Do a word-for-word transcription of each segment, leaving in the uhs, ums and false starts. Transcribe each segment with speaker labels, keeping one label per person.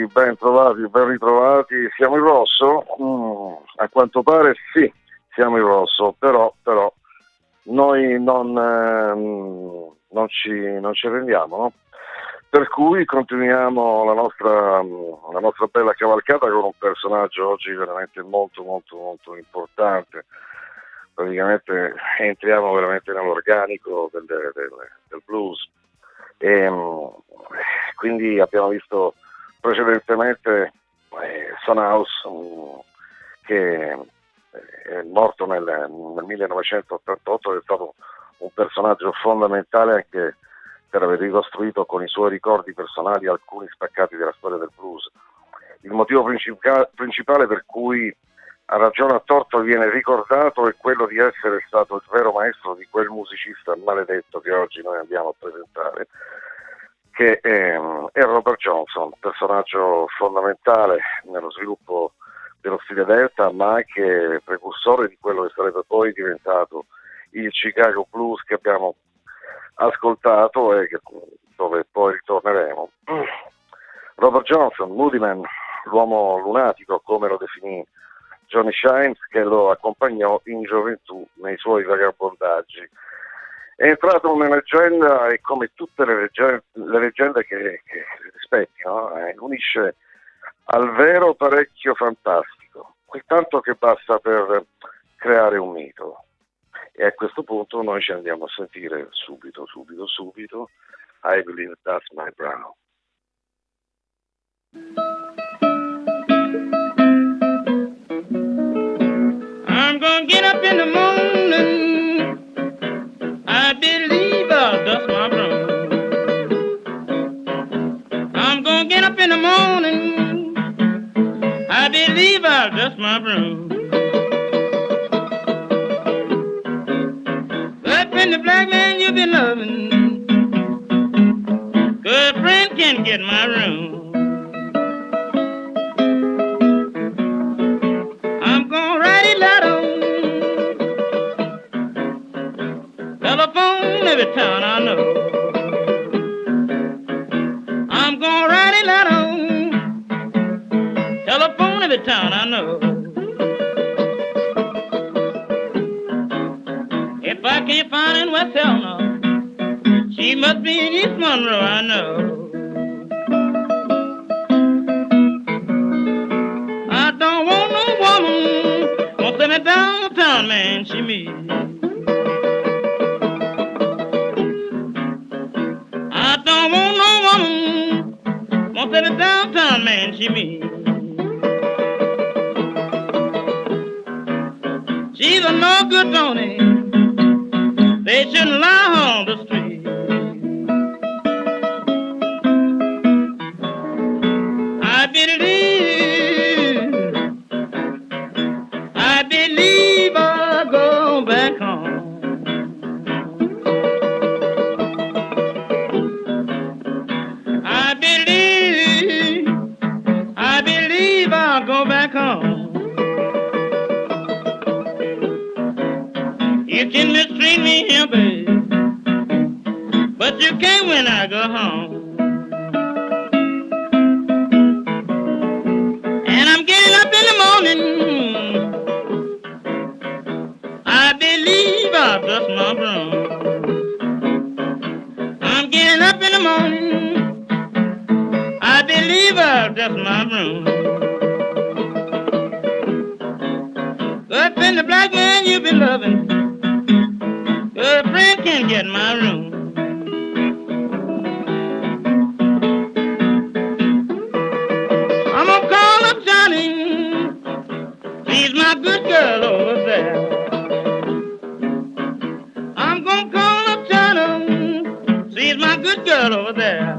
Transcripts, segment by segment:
Speaker 1: ben trovati, ben ritrovati. Siamo in rosso? Mm, a quanto pare sì, siamo in rosso, però, però noi non, ehm, non, ci, non ci arrendiamo, no? Per cui continuiamo la nostra, la nostra bella cavalcata con un personaggio oggi veramente molto, molto, molto importante. Praticamente entriamo veramente nell'organico del, del, del blues. E, quindi abbiamo visto precedentemente eh, Son House, um, che è morto nel, nel millenovecentottantotto, è stato un personaggio fondamentale anche per aver ricostruito con i suoi ricordi personali alcuni spaccati della storia del blues. Il motivo principale, principale per cui a ragione a torto viene ricordato è quello di essere stato il vero maestro di quel musicista maledetto che oggi noi andiamo a presentare, che è, è Robert Johnson, personaggio fondamentale nello sviluppo dello stile Delta, ma anche precursore di quello che sarebbe poi diventato il Chicago Blues che abbiamo ascoltato e che, dove poi ritorneremo. Robert Johnson, Moodyman, l'uomo lunatico, come lo definì Johnny Shimes, che lo accompagnò in gioventù nei suoi vagabondaggi. È entrato una leggenda e come tutte le leggende, le leggende che, che rispecchiano, eh, unisce al vero parecchio fantastico, quel tanto che basta per creare un mito. E a questo punto noi ci andiamo a sentire subito, subito, subito I Believe That's My Brown.
Speaker 2: I'm gonna get up in the morning, I believe I'll dust my broom. I'm gonna get up in the morning, I believe I'll dust my broom. Up in the black man you've been loving, good friend can get my room. I'm gonna write it out on telephone every town I know. I'm gonna write it out on telephone every town I know. If I can't find her in West Helena, she must be in East Monroe, I know. I don't want no woman won't send me downtown, man, she me. I don't want no woman won't send me downtown, man, she me. She's a no good Tony, they shouldn't lie on the street. I believe, I believe I'll go back home. I believe, I believe I'll go back home. You can mistreat me here, babe, but you can't when I go home. And I'm getting up in the morning, I believe I'll dust my broom. I'm getting up in the morning, I believe I'll dust my broom. Up in the black man you've been loving, good friend can get my room. I'm gonna call up Johnny, she's my good girl over there. I'm gonna call up Johnny, she's my good girl over there.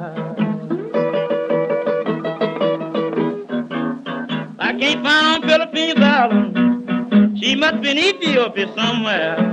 Speaker 2: I can't find on Philippines Island, she must be in Ethiopia somewhere.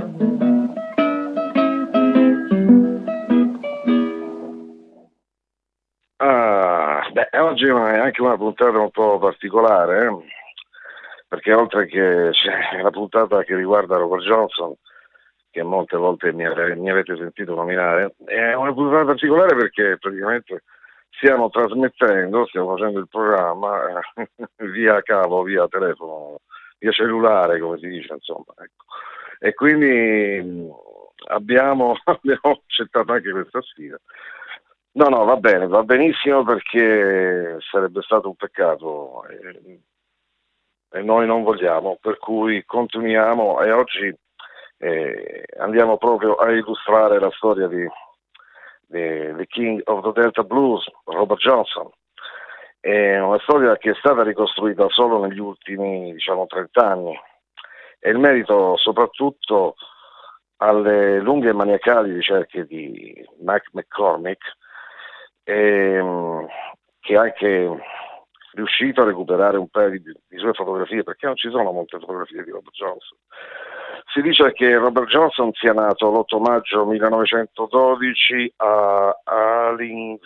Speaker 1: Ah, beh, oggi è anche una puntata un po' particolare, eh? Perché oltre che c'è la puntata che riguarda Robert Johnson, che molte volte mi, ave- mi avete sentito nominare, è una puntata particolare perché praticamente stiamo trasmettendo, stiamo facendo il programma eh, via cavo, via telefono, via cellulare, come si dice, insomma. Ecco. E quindi mh, abbiamo, abbiamo accettato anche questa sfida. No, no, va bene, va benissimo perché sarebbe stato un peccato e, e noi non vogliamo, per cui continuiamo e oggi eh, andiamo proprio a illustrare la storia di, di, di King of the Delta Blues, Robert Johnson. È una storia che è stata ricostruita solo negli ultimi, diciamo, trenta anni e il merito soprattutto alle lunghe e maniacali ricerche di Mike McCormick, ehm, che ha anche riuscito a recuperare un paio di, di sue fotografie, perché non ci sono molte fotografie di Robert Johnson. Si dice che Robert Johnson sia nato l'otto maggio millenovecentododici a Alins,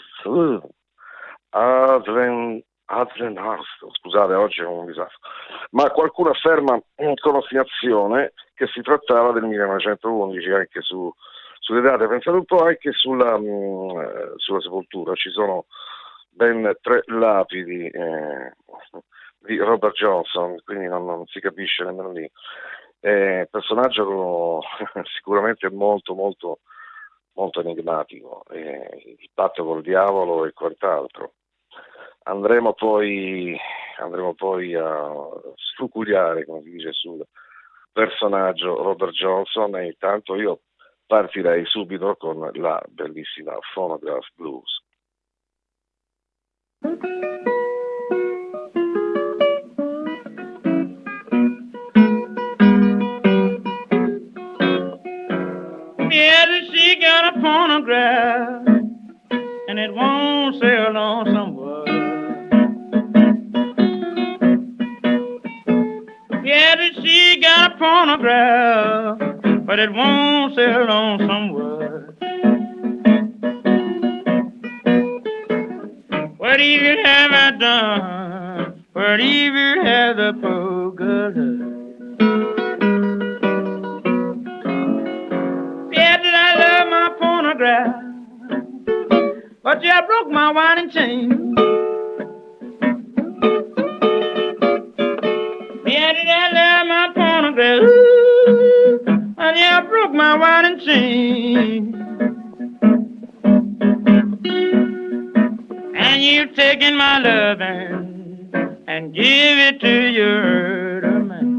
Speaker 1: Adlen, Adlenhurst, scusate, oggi è un disastro, ma qualcuno afferma con ostinazione che si trattava del millenovecentoundici, anche su, sulle date, pensate un po' anche sulla, mh, sulla sepoltura, ci sono ben tre lapidi eh, di Robert Johnson, quindi non, non si capisce nemmeno lì. Eh, personaggio sicuramente molto molto molto enigmatico, eh, il patto col diavolo e quant'altro. Andremo poi, andremo poi a sfucuriare, come si dice, sul personaggio Robert Johnson e intanto io partirei subito con la bellissima Phonograph Blues.
Speaker 2: Yeah, she got a phonograph and it won't sell on somewhere. Yeah, she got a phonograph, but it won't sell on somewhere. What evil have I done? What evil have the poor girl done? Yeah, did I love my phonograph? But yeah, I broke my winding chain. Yeah, did I love my phonograph? Ooh, and yeah, I broke my winding chain. And you've taken my loving and give it to your man.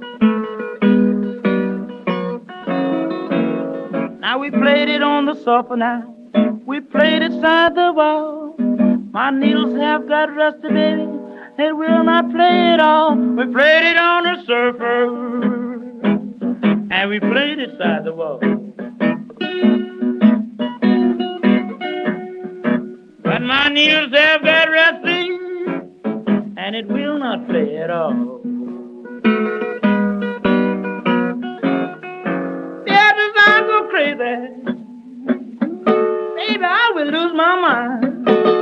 Speaker 2: Now we played it on the sofa now. We played it side the wall. My needles have got rusty, baby. They will not play it all. We played it on the surfer. And we played it side the wall. But my needles have got rusty, and it will not play at all. Yeah, does I go crazy? Baby, I will lose my mind.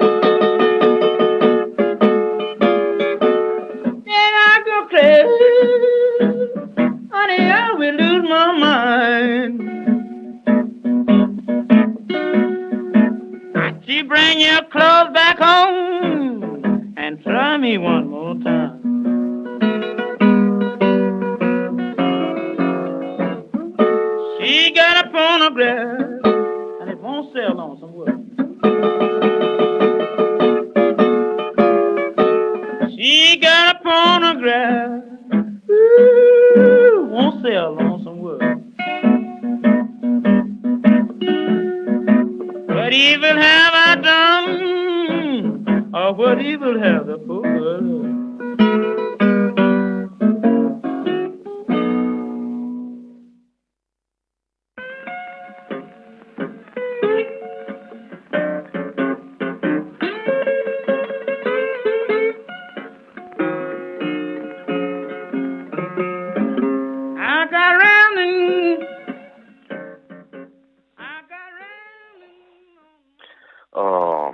Speaker 2: Yeah, I go crazy. Honey, I will lose my mind. She bring your clothes back home and try me one more time. She got a phonograph and it won't sell on some wood. She got a phonograph, ooh, won't sell on some wood. What evil have I done? Or what evil have the poor girl done? I got round and I got round and
Speaker 1: Oh.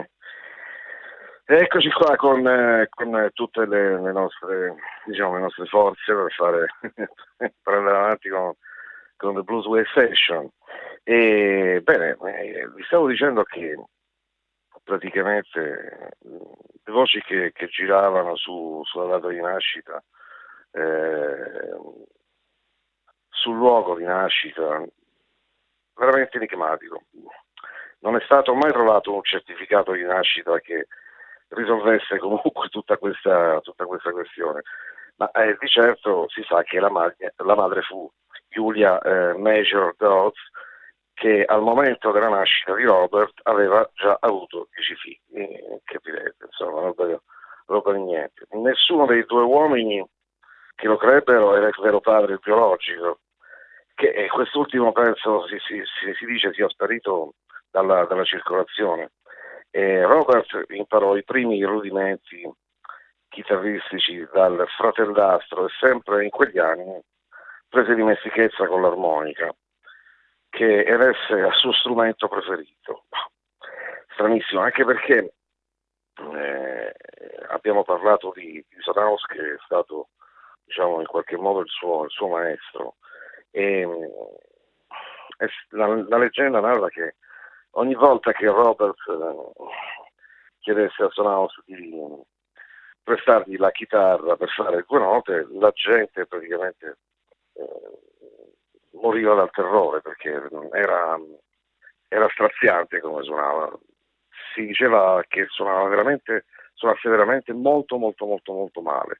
Speaker 1: Eccoci qua con, eh, con tutte le, le nostre, diciamo, le nostre forze per fare per andare avanti con, con The Blues Way Session. E bene, eh, vi stavo dicendo che praticamente le voci che, che giravano su, sulla data di nascita, eh, sul luogo di nascita, veramente enigmatico. Non è stato mai trovato un certificato di nascita che risolvesse comunque tutta questa, tutta questa questione, ma eh, di certo si sa che la, madre, la madre fu Julia eh, Major Dodds, che al momento della nascita di Robert aveva già avuto dieci figli, capirete, insomma, roba, roba di niente. Nessuno dei due uomini che lo crebbero era il vero padre biologico, che eh, quest'ultimo penso si, si, si, si dice sia sparito dalla, dalla circolazione. E Robert imparò i primi rudimenti chitarristici dal fratellastro e sempre in quegli anni prese dimestichezza con l'armonica, che era il suo strumento preferito. Stranissimo, anche perché eh, abbiamo parlato di, di Sanaus, che è stato, diciamo, in qualche modo il suo, il suo maestro, e eh, la, la leggenda narra che ogni volta che Robert eh, chiedesse a Sanaus di prestargli la chitarra per fare due note, la gente praticamente eh, moriva dal terrore, perché era, era straziante come suonava. Si diceva che suonava veramente, suonasse veramente molto molto molto molto male.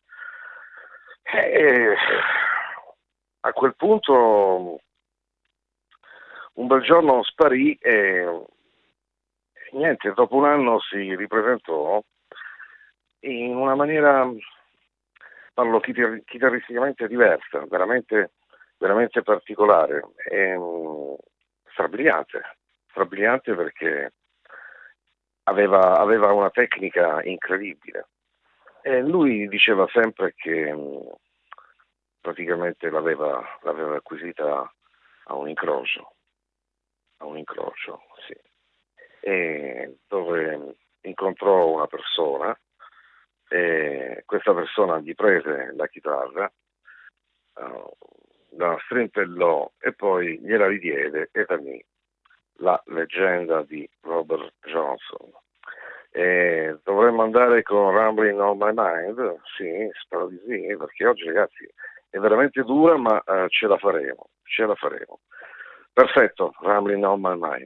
Speaker 1: E a quel punto un bel giorno sparì e niente, dopo un anno si ripresentò in una maniera, parlo chitar- chitarristicamente diversa, veramente, veramente particolare, e, um, strabiliante, strabiliante perché aveva, aveva una tecnica incredibile. E lui diceva sempre che um, praticamente l'aveva, l'aveva acquisita a un incrocio, a un incrocio, sì. E dove incontrò una persona, e questa persona gli prese la chitarra, uh, la strimpellò e poi gliela ridiede, e da lì la leggenda di Robert Johnson. E dovremmo andare con Rambling on My Mind? Sì, spero di sì, perché oggi, ragazzi, è veramente dura, ma uh, ce la faremo, ce la faremo. Perfetto, Rambling on My Mind.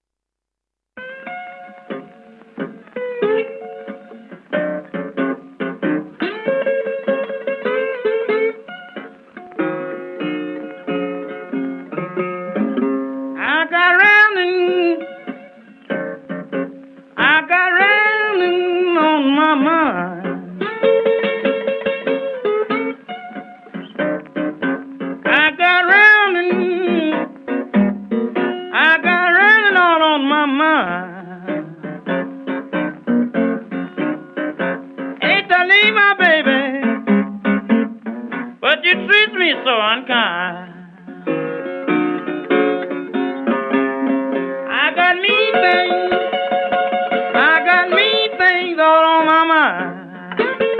Speaker 2: I got rounding, I got rounding on my mind. I got rounding, I got rounding all on my mind. Hate to leave my baby, but you treat me so unkind. I got me things, I got me things all on my mind.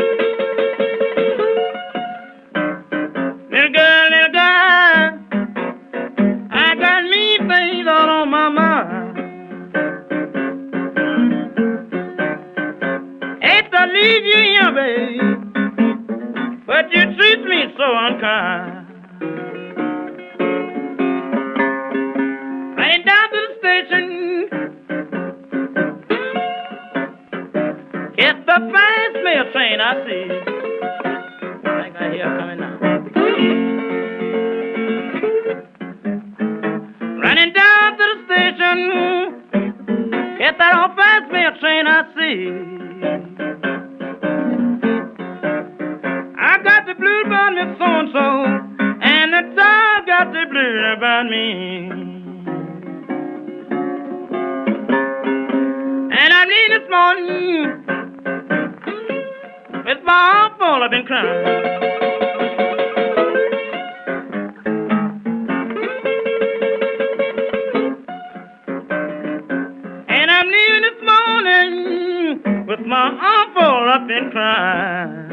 Speaker 2: Little girl, little girl, I got me things all on my mind. Hate to leave you here, babe, but you treat me so unkind. Ran down to the station, get the fast mail train I see. I think I hear it coming now. Running down to the station, get that old fast mail train I see. I got the blues about me so-and-so, and the dog got the blues about me. And I'm leaving this morning with my arm full, I've been crying. And I'm leaving this morning with my arm full, I've been crying.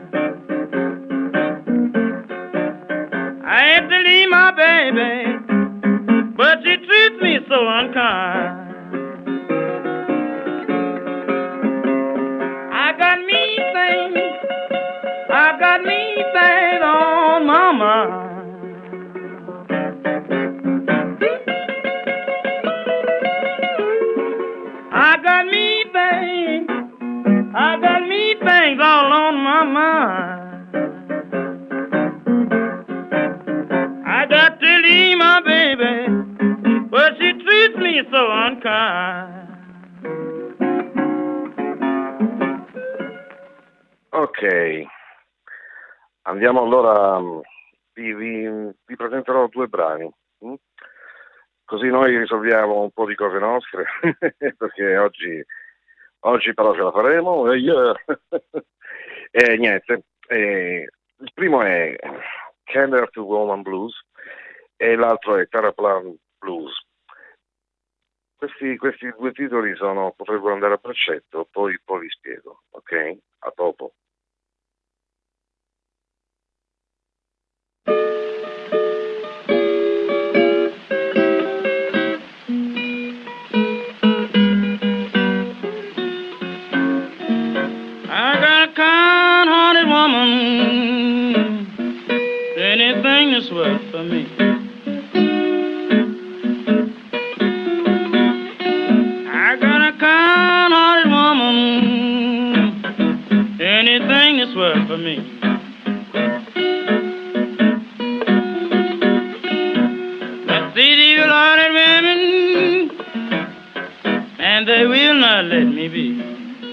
Speaker 2: I had to leave my baby, but she treats me so unkind.
Speaker 1: Andiamo allora, vi, vi, vi presenterò due brani, hm? Così noi risolviamo un po' di cose nostre, perché oggi, oggi però ce la faremo. E, yeah. E niente, e il primo è Canter to Woman Blues e l'altro è Terraplan Blues. Questi, questi due titoli sono, potrebbero andare a braccetto, poi, poi vi spiego, ok? A dopo.
Speaker 2: I got a kind-hearted woman, anything that's worth for me. I got a kind-hearted woman, anything that's worth for me. But these evil-hearted women, and they will not let me be.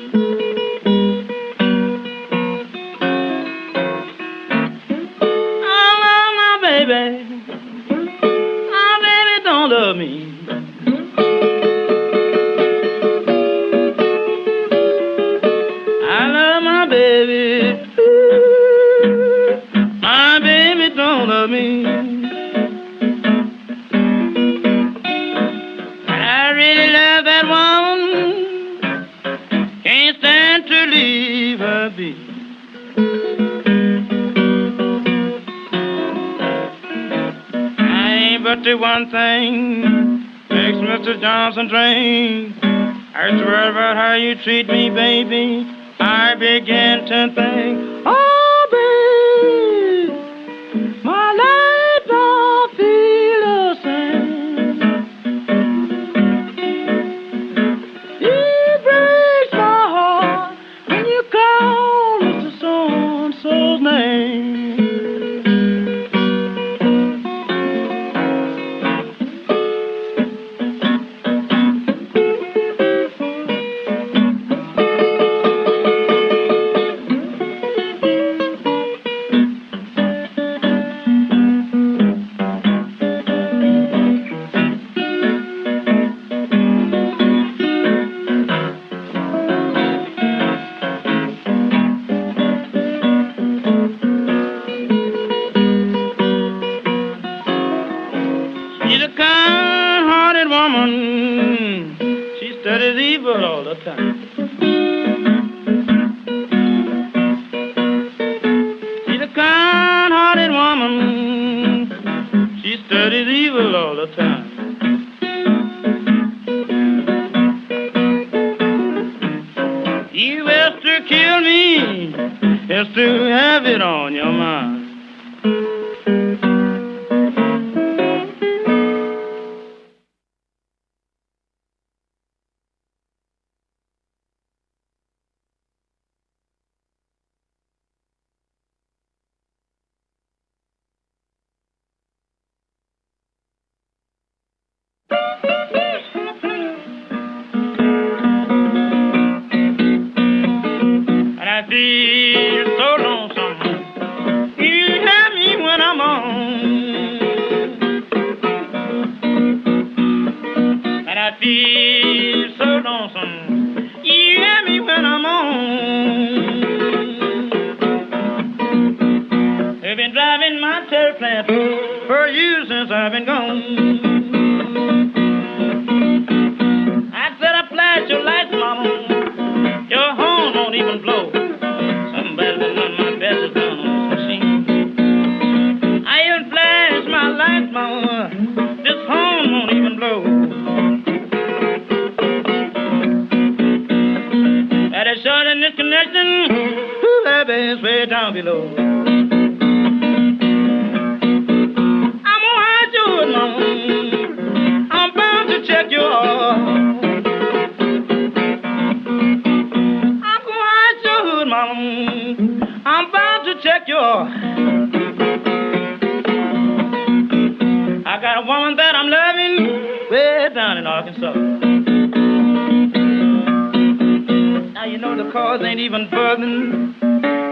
Speaker 2: Baby, my baby don't love me. I love my baby. My baby don't love me. I really love that woman. Can't stand to leave her be. But the one thing makes Mister Johnson drink. I swear about how you treat me, baby. I begin to think, oh, baby, my life don't feel the same. It breaks my heart when you call Mister So-and-so's name.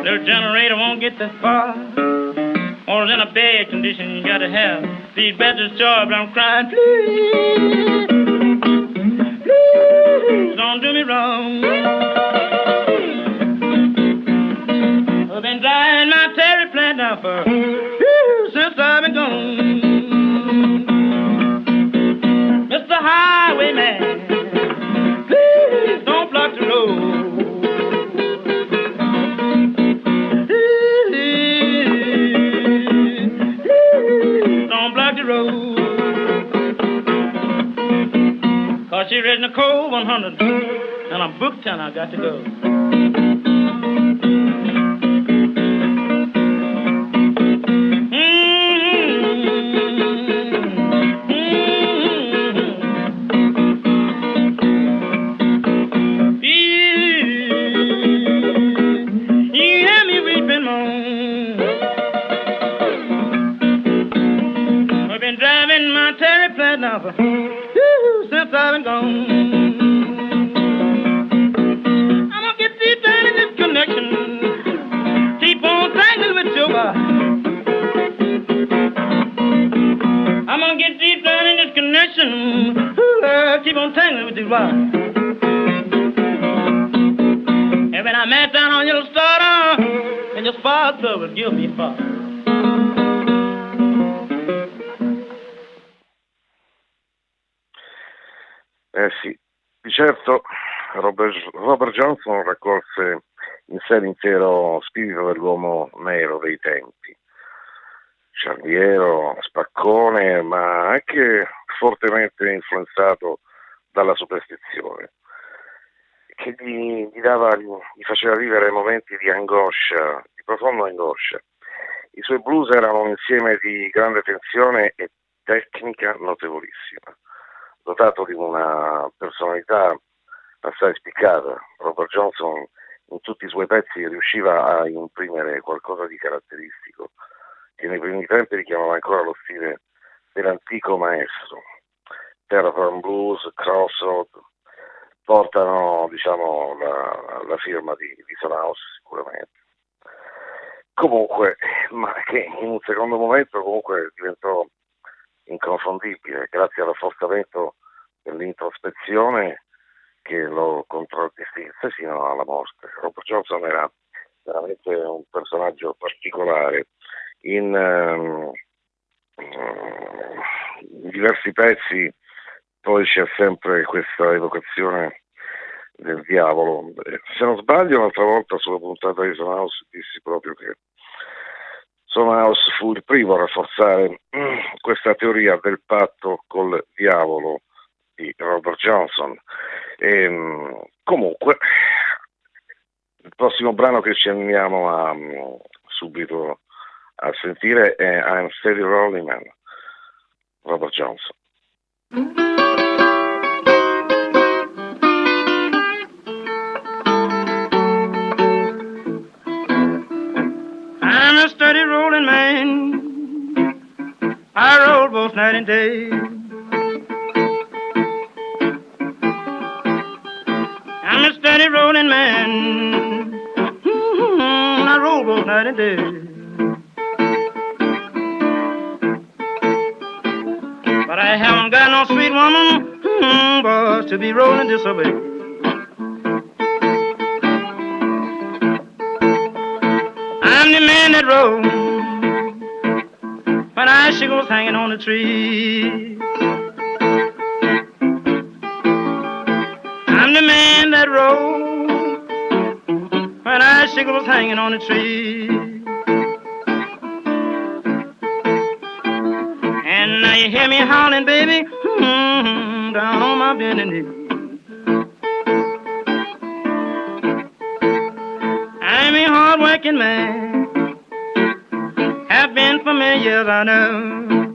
Speaker 2: Little generator won't get that far. Or in a bad condition, you gotta have these better jobs. I'm crying, please, please, don't do me wrong. I've been driving my terry plant now for whew, since I've been gone. Mister Highwayman, please don't block the road. Cause she read Nicole one hundred and I'm booked and I got to go. Since I've been gone, I'm gonna get deep down in this connection. Keep on tangling with your body. I'm gonna get deep down in this connection. Ooh, uh, keep on tangling with your body. And when I met down on your starter, and your father would give me father.
Speaker 1: Eh sì, di certo Robert, Robert Johnson raccolse in sé l'intero spirito dell'uomo nero dei tempi, ciarliero, spaccone, ma anche fortemente influenzato dalla superstizione, che gli, gli, dava, gli faceva vivere momenti di angoscia, di profonda angoscia. I suoi blues erano un insieme di grande tensione e tecnica notevolissima. Dotato di una personalità assai spiccata, Robert Johnson in tutti i suoi pezzi riusciva a imprimere qualcosa di caratteristico che nei primi tempi richiamava ancora lo stile dell'antico maestro. Terraform Blues, Crossroad portano, diciamo, la, la firma di, di Son House sicuramente. Comunque, ma che in un secondo momento comunque diventò inconfondibile grazie al rafforzamento dell'introspezione che lo contraddistinse fino alla morte. Robert Johnson era veramente un personaggio particolare. In, um, in diversi pezzi poi c'è sempre questa evocazione del diavolo. Se non sbaglio, l'altra volta sulla puntata di Son House dissi proprio che Son House fu il primo a rafforzare questa teoria del patto col diavolo di Robert Johnson. E, comunque, il prossimo brano che ci andiamo a, subito a sentire è I'm Steady Rolling Man, Robert Johnson.
Speaker 2: I'm a steady rolling man. I roll both night and day. I'm a steady rolling man. Mm-hmm. I roll both night and day. But I haven't got no sweet woman, mm-hmm, boys, to be rolling this away. I'm the man that rolls when icicles hanging on the tree. I'm the man that rolls when icicles hanging on the tree. And now you hear me howling, baby, mm-hmm, down on my bending knee. I'm a hard-working man, have been for many years, I know.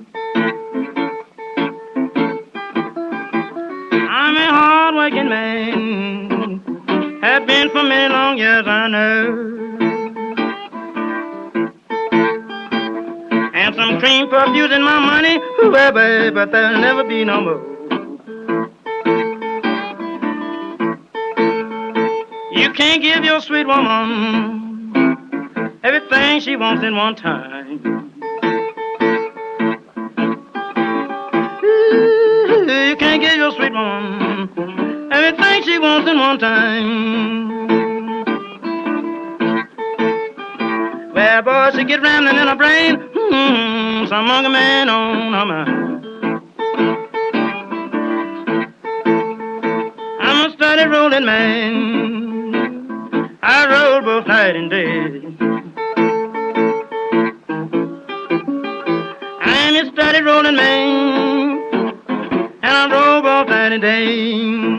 Speaker 2: I'm a hard-working man, have been for many long years, I know. And some cream perfumes in my money, well, babe, but there'll never be no more. You can't give your sweet woman everything she wants in one time. Ooh, you can't get your sweet woman everything she wants in one time. Well, boy, she get rambling in her brain, hmm, some monkey man on her mind. I'm a steady rolling man, I roll both night and day. I'm a steady rolling man, and I roll both night and day.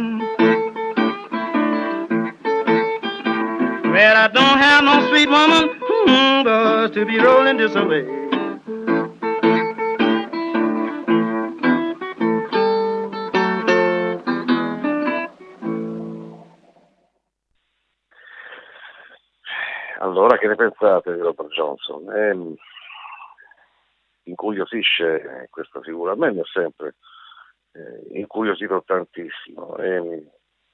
Speaker 2: Well, I don't have no sweet woman, hmm, but to be rolling this away.
Speaker 1: Allora, che ne pensate di Robert Johnson? Eh, incuriosisce questa figura, a me mi ha sempre eh, incuriosito tantissimo. Eh,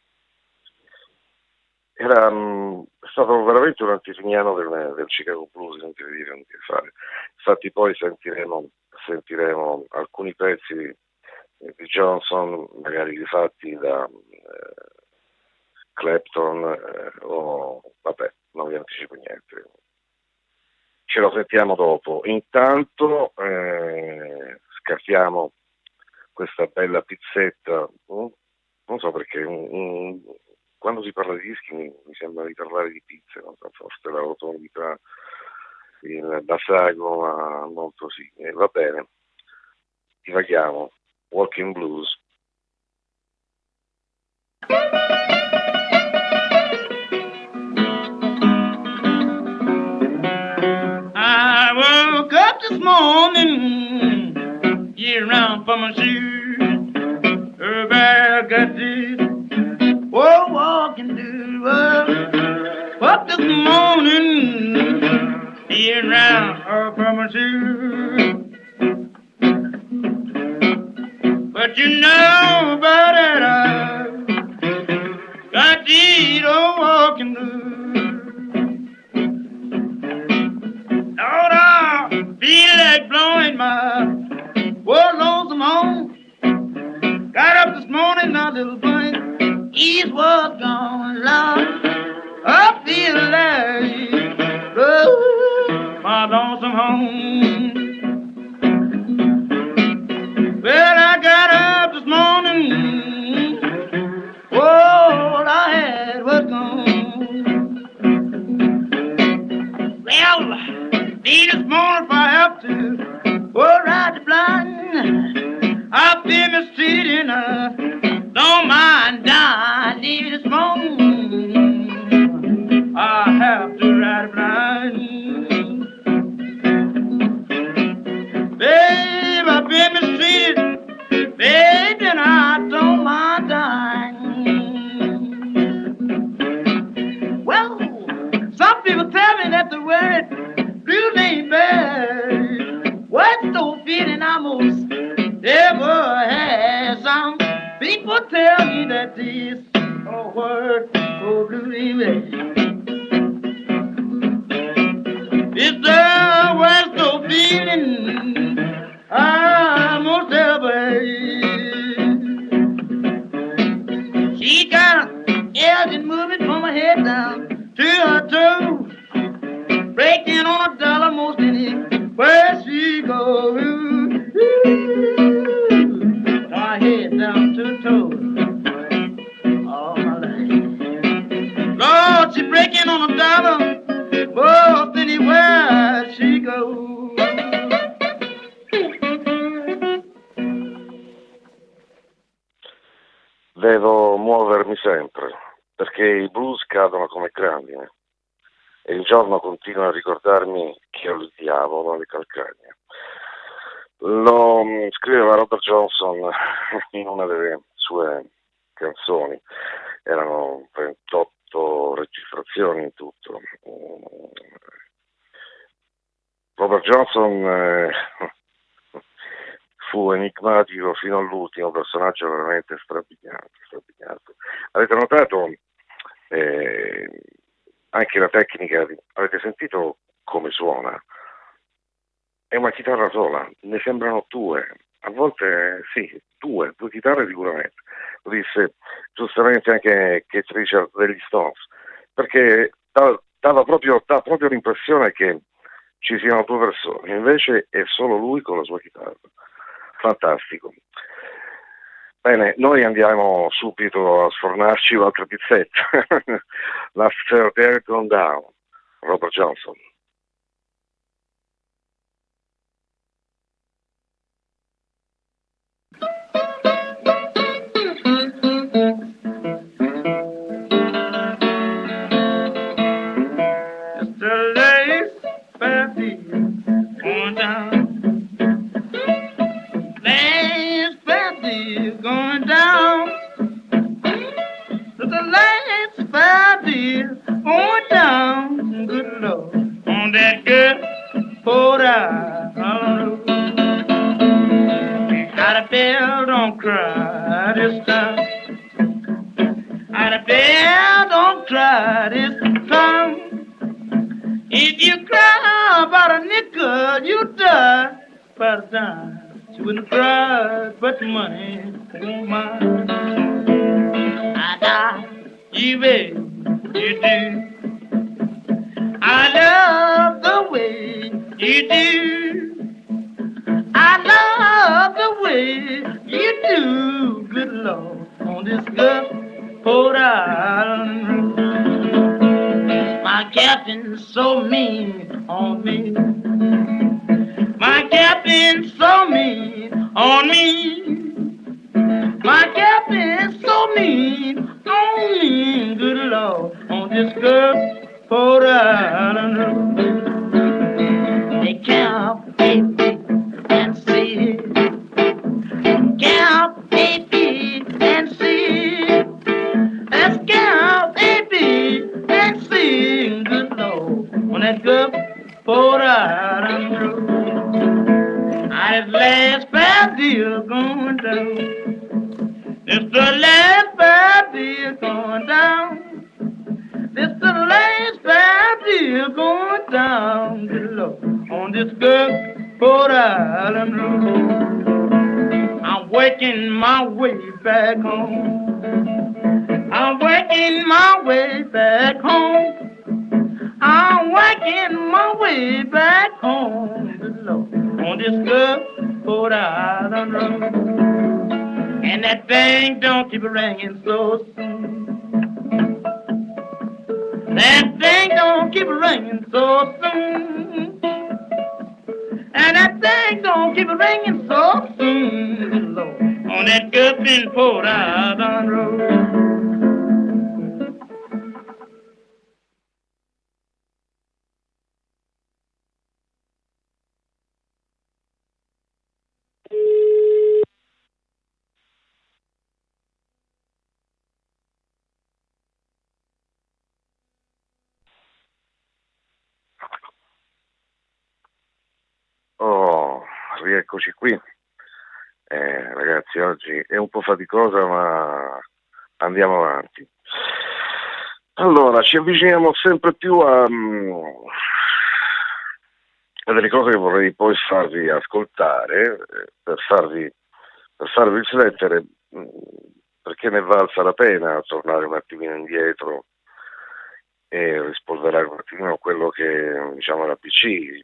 Speaker 1: era mh, stato veramente un antesignano del, del Chicago Blues, non ti devo dire, non ti fare. Infatti poi sentiremo, sentiremo alcuni pezzi di, di Johnson, magari rifatti da eh, Clapton eh, o vabbè, non vi anticipo niente. Ce lo sentiamo dopo. Intanto eh, scattiamo questa bella pizzetta. Oh, non so perché un, un, quando si parla di dischi mi, mi sembra di parlare di pizze, non so, forse la rotondità, il basago, ma molto sì. Eh, va bene, divaghiamo. Walking Blues.
Speaker 2: I woke up this morning, get around for my shoes. Everybody got this, oh, walking through the world. Up this morning, get around for my shoes. But you know about it, I got these old walking blues. Lord, I feel like blowing my poor lonesome home. Got up this morning, a little blink, east was gone, Lord. I feel like blowing my lonesome home. Well, I got up this morning, all I had was gone. Well, me this morning if I have to, oh, ride the blind. I've been mistreated and I don't mind dying. Leave this morning, I have to ride blind. Babe, I've been mistreated, babe, and I don't mind dying. Well, some people tell me that the word blues ain't bad. What's no feeling I most ever had? Some people tell me that this oh, word oh, blues ain't bad. It's the worst no feeling I most ever had. She got an elegant moving from her head down to her toes, breaking on a dollar most anywhere she goes. My head down to the toes, all my life. Lord, she breaking on a dollar most anywhere she goes.
Speaker 1: Devo muovermi sempre, perché i blues cadono come grandine e il giorno continua a ricordarmi che ho il diavolo alle calcagna. Lo scriveva Robert Johnson in una delle sue canzoni, erano ventotto registrazioni in tutto. Robert Johnson eh, fu enigmatico fino all'ultimo, personaggio veramente strabiliante, strabiliante. Avete notato eh, anche la tecnica, avete sentito come suona. È una chitarra sola, ne sembrano due, a volte sì, due, due chitarre sicuramente. Lo disse giustamente anche Keith Richards degli Stones, perché dava, dava proprio, dà proprio l'impressione che ci siano due persone, invece è solo lui con la sua chitarra. Fantastico. Bene, noi andiamo subito a sfornarci un'altra pizzetta. L'After There Gone Down, Robert Johnson.
Speaker 2: Going down, the last five years going down, good Lord, on that good Port Island. Out of bell, don't cry this time. Out of bell, don't cry this time. If you cry about a nickel, you die by the dime. She wouldn't cry, but money won't mind. I die, you baby, you do. I love the way you do. I love the way you do, good Lord, on this good Port Island road. My captain's so mean on me. My captain's so mean on me. My captain's so mean on me, good Lord, on this good Port Island road. They count A, B, and C. Count A, B, and C. Let's count A, B, and C, good Lord, on that good Port Island road. I just last five deal going down. It's the last five deal going down. It's the last five deal going down, good Lord, on this good Port Island road. I'm working my way back home. I'm working my way back home. I'm working my way back home, good Lord, on this good Port Island road. And that thing don't keep ringing so soon. That thing don't keep ringing so soon. And that thing don't keep ringing so soon, good Lord, on that good Port Island road.
Speaker 1: Oh, rieccoci qui. Eh, ragazzi, oggi è un po' faticosa, ma andiamo avanti. Allora, ci avviciniamo sempre più a, a delle cose che vorrei poi farvi ascoltare, per farvi, per farvi riflettere, perché ne valsa la pena tornare un attimino indietro e rispolverare un attimino quello che, diciamo, la P C.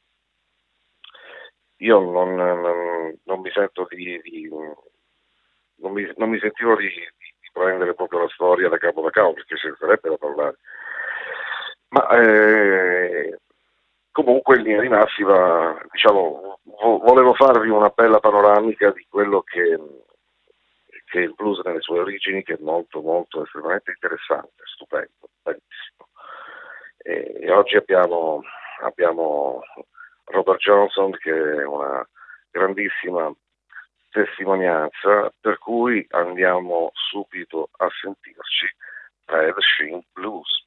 Speaker 1: Io non, non, non mi sento di, di non, mi, non mi sentivo di, di, di prendere proprio la storia da capo da capo, perché ci sarebbe da parlare, ma eh, comunque in linea di massima, diciamo, vo- volevo farvi una bella panoramica di quello che, che è il blues nelle sue origini, che è molto molto estremamente interessante, stupendo, bellissimo. E, e oggi abbiamo abbiamo Robert Johnson, che è una grandissima testimonianza, per cui andiamo subito a sentirci Red Sheen Blues.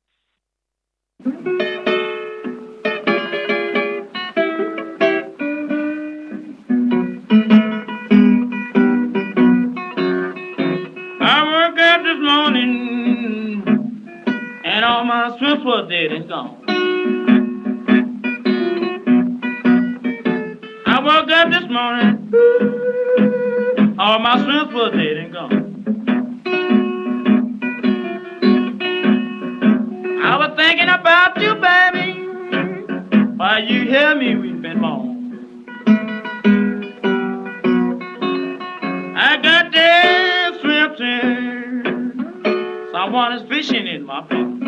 Speaker 2: I woke up this morning and all my strength was dead and gone. morning, all my strength was dead and gone. I was thinking about you, baby, while you hear me weeping moan. I got there swimming, someone is fishing in my pond.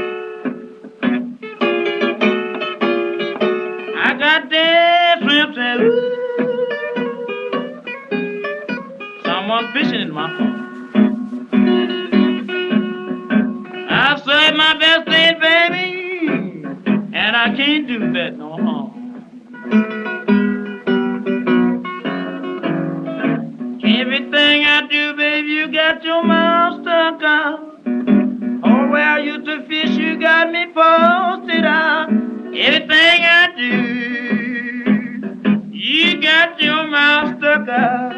Speaker 2: I got there swimming, someone fishing in my pond. I saved my best day, baby, and I can't do that no more. Everything I do, baby, you got your mouth stuck out. Oh, where I used to fish, you got me posted out. Everything I do, you got your mouth stuck out.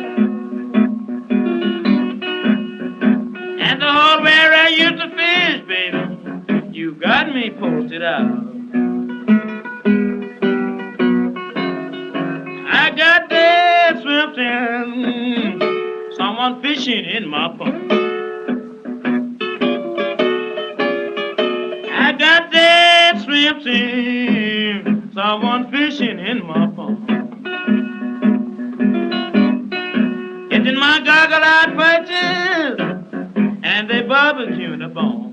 Speaker 2: And the hole where I used to fish, baby, you got me posted out. I got that swimming, someone fishing in my pond. I got that swimming, someone fishing in my pond. Getting my goggle-eyed purchase, and they barbecue the bone.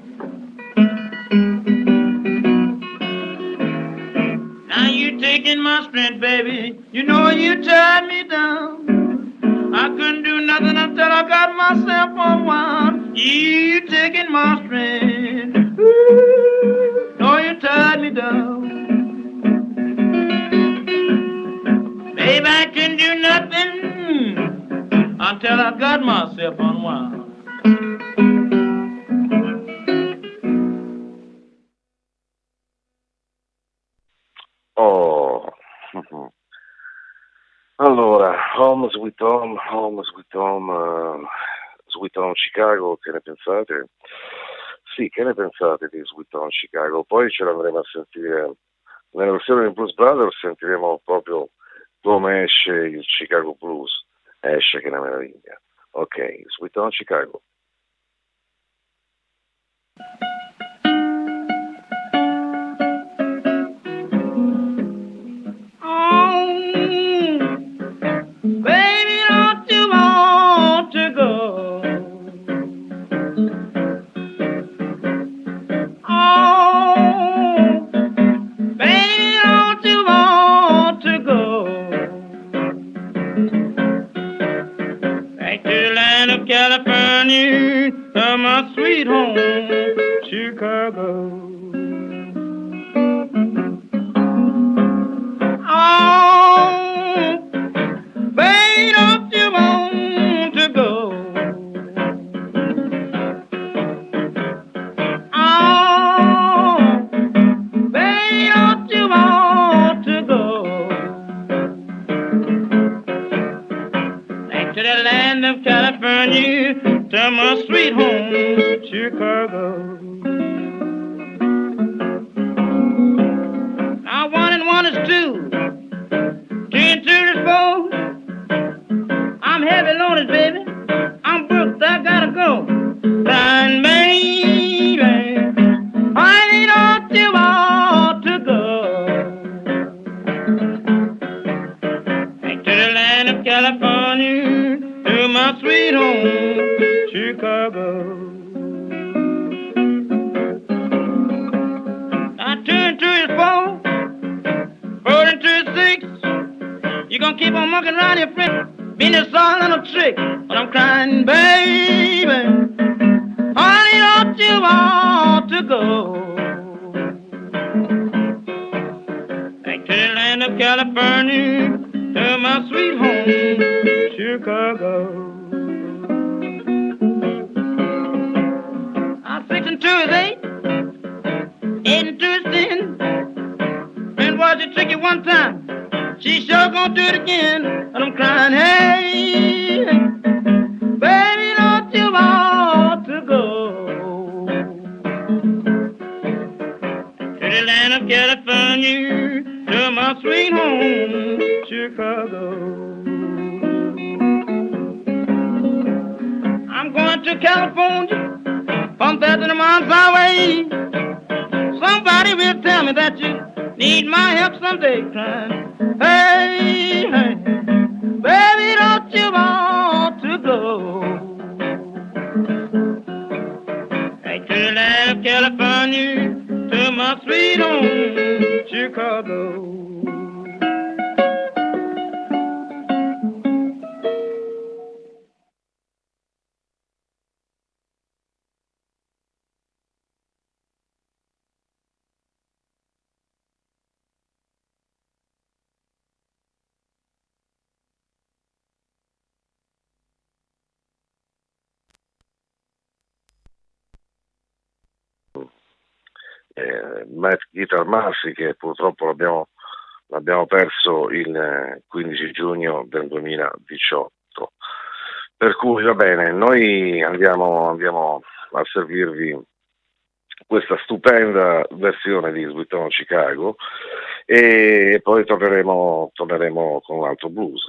Speaker 2: Now you taking my strength, baby. You know you tied me down. I couldn't do nothing until I got myself unwound. You taking my strength. Ooh, know you tied me down. Baby, I couldn't do nothing until I got myself unwound.
Speaker 1: Oh, allora, Home Sweet Home, Home Sweet Home, uh, Sweet Home Chicago, che ne pensate? Sì, che ne pensate di Sweet Home Chicago? Poi ce l'andremo a sentire nella versione di Blues Brothers, sentiremo proprio come esce il Chicago Blues, esce che è una meraviglia. Ok, Sweet Home Chicago.
Speaker 2: Baby, don't you want to go? Oh, baby, don't you want to go back to the land of California, to my sweet home, Chicago? California, to my sweet home, Chicago. Now one and one is two, two and two is four. I'm heavy loaded, baby. I'm booked, I gotta go. Fine, baby, I don't you want to go back to the land of California, to my sweet home, Chicago. Now two and two is four, four and two is six. You gonna keep on mucking around your friend, being a song little trick. But I'm crying, baby, honey, don't you want to go back to the land of California, to my sweet home, Chicago. Now six and two is eight, eight and two is ten. Friend was a tricky one time, she sure gonna do it again. And I'm crying, hey, baby, don't you want to go to the land of California, to my sweet home, Chicago. to California, from there to the mountains away. Somebody will tell me that you need my help someday, crying, hey, hey, baby, don't you want to go? Back to the land of California, to my sweet home, Chicago.
Speaker 1: Eh, Matt Guitar Massi, che purtroppo l'abbiamo, l'abbiamo perso il quindici giugno del duemiladiciotto. Per cui va bene, noi andiamo, andiamo a servirvi questa stupenda versione di Sweet Home Chicago e poi torneremo, torneremo con un altro blues.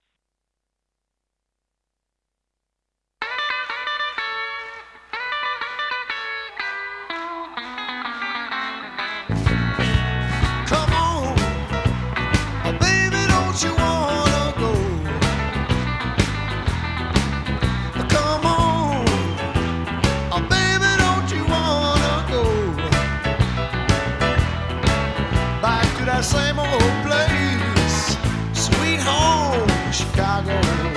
Speaker 3: Same old place, sweet home, Chicago.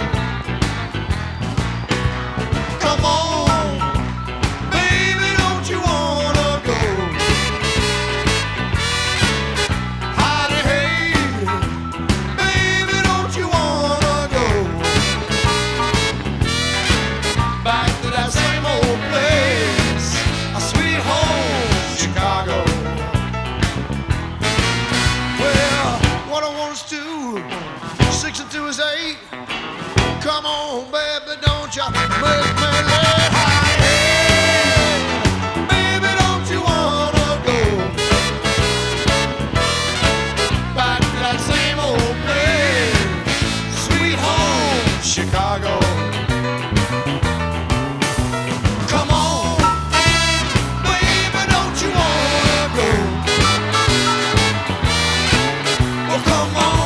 Speaker 3: Come on, baby, don't you wanna go? Howdy, hey, baby, don't you wanna go? Back to that same old place, a sweet home, Chicago. Six and two is eight. Come on, baby, don't you make me late. Hey, baby, don't you wanna go back to that same old place, sweet home, Chicago? Come on, baby, don't you wanna go? Well, come on.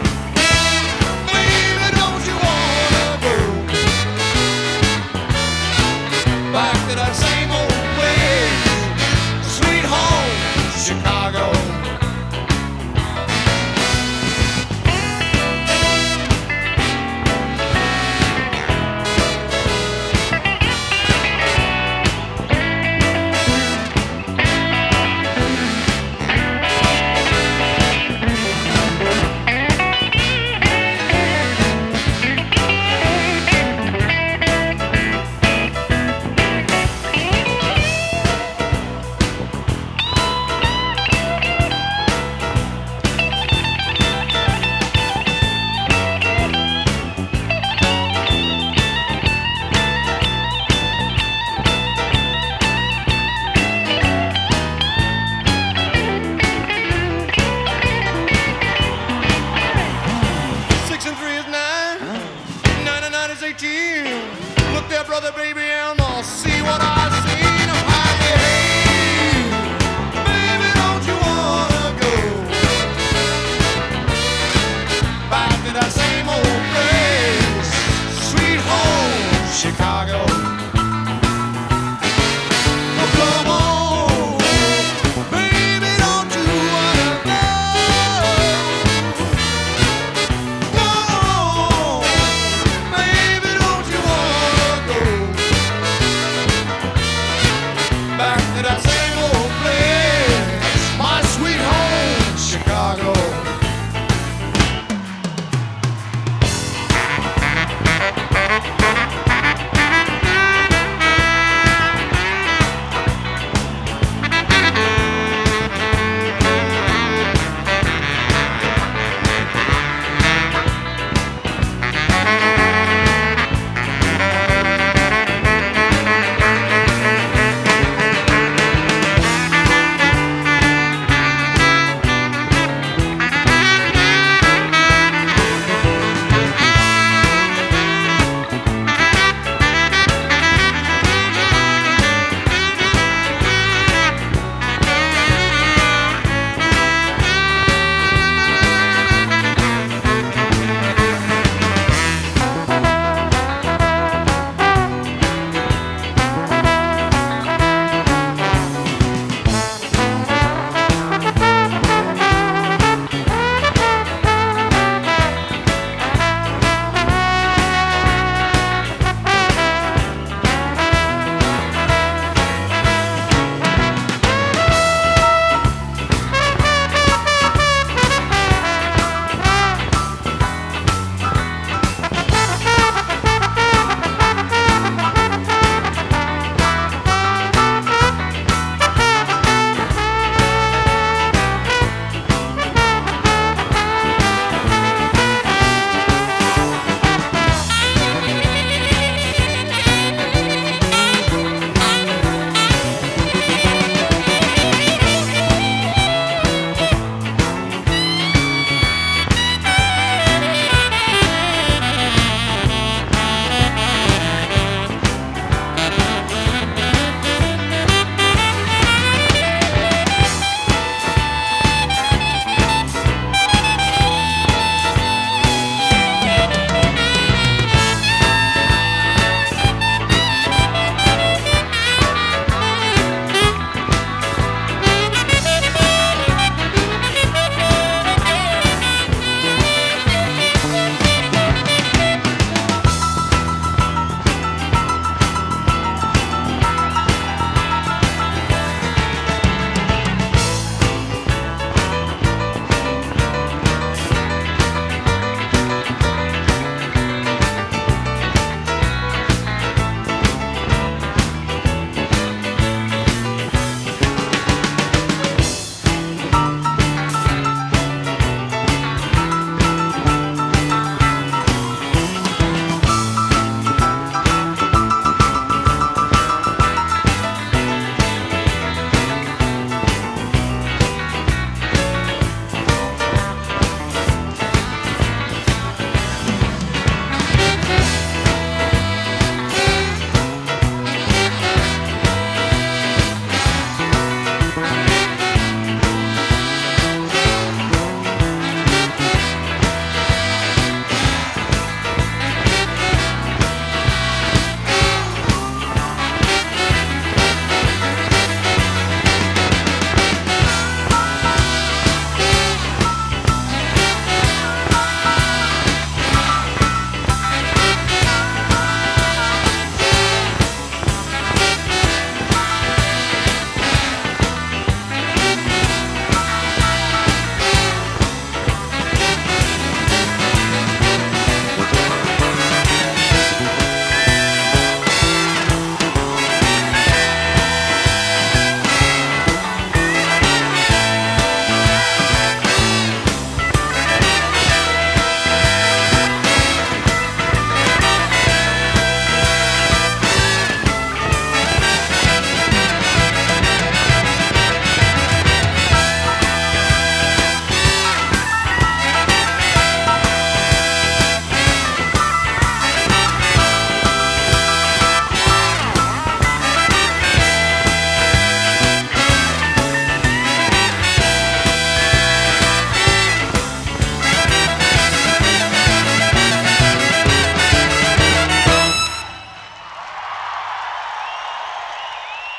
Speaker 3: Chicago. Look there, brother, baby, and I'll see what I seen. Hey, baby, don't you wanna go back to that same old place, sweet home, Chicago? Oh, come on, baby, don't you wanna go? Come on, baby, don't you wanna go